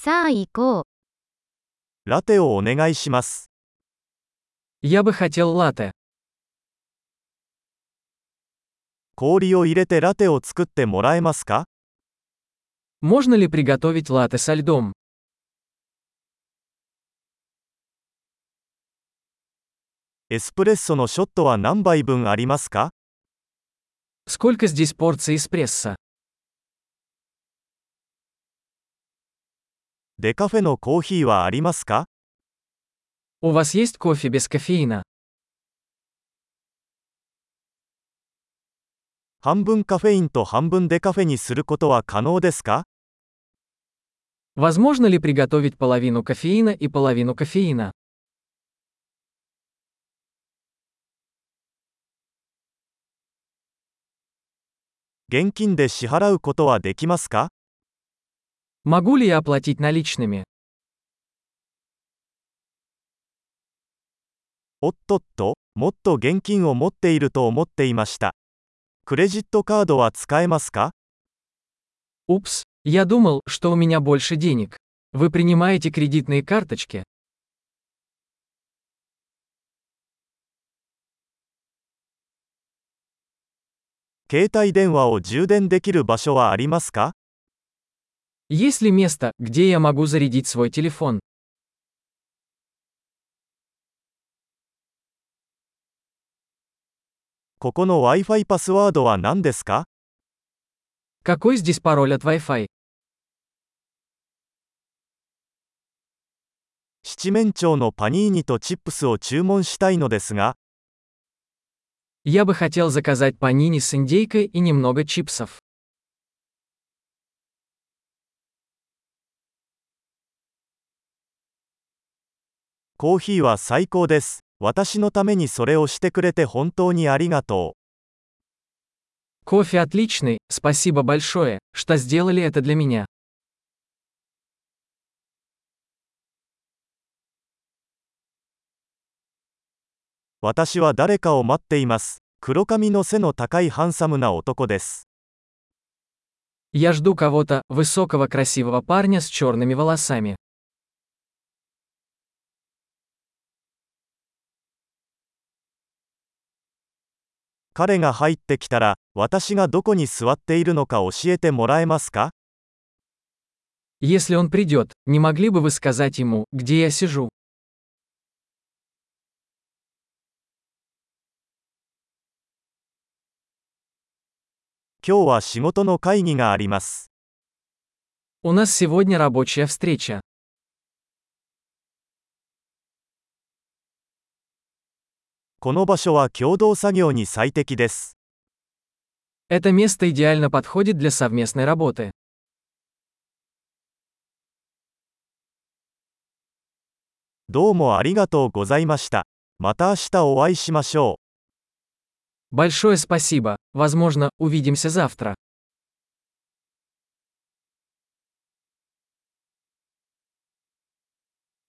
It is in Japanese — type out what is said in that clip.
さあ行こう。 ラテをお願いします。 Я бы хотел латте. 氷を入れてラテを作ってもらえますか？ Можно ли приготовить латте со льдом? エスプレッソのショットは何杯分ありますか？ Сколько здесь порций эспрессо? デカフェのコーヒーはありますか？ У вас есть кофе без кофеина? 半分カフェインと半分デカフェにすることは可能ですか？ Возможно ли приготовить половину кофеина и половину кофеина? 現金で支払うことはできますか？ Могу ли я оплатить наличными? おっとっと、もっと現金を持っていると思っていました。クレジットカードは使えますか？ Упс, я думал, что у меня больше денег. Вы принимаете кредитные карточки? 携帯電話を充電できる場所はありますか？ Есть ли место, где я могу зарядить свой телефон? ここの Wi-Fi パスワードは何ですか？ Какой здесь пароль от Wi-Fi? 七面鳥のパニーニとチップスを注文したいのですが、 Я бы хотел заказать панини с индейкой и немного чипсов. コーヒーは最高です。私のためにそれをしてくれて本当にありがとう。 Кофе отличный, спасибо большое, что сделали это для меня. 私は誰かを待っています。黒髪の背の高いハンサムな男です。 Я жду кого-то, высокого красивого парня с черными волосами. 彼が入ってきたら、私がどこに座っているのか教えてもらえますか？ Если он придет, не могли бы вы сказать ему, где я сижу? 今日は仕事の会議があります。 У нас сегодня рабочая встреча. この場所は共同作業に最適です。 Это место идеально подходит для совместной работы. どうもありがとうございました。また明日お会いしましょう。 Большое спасибо, возможно, увидимся завтра.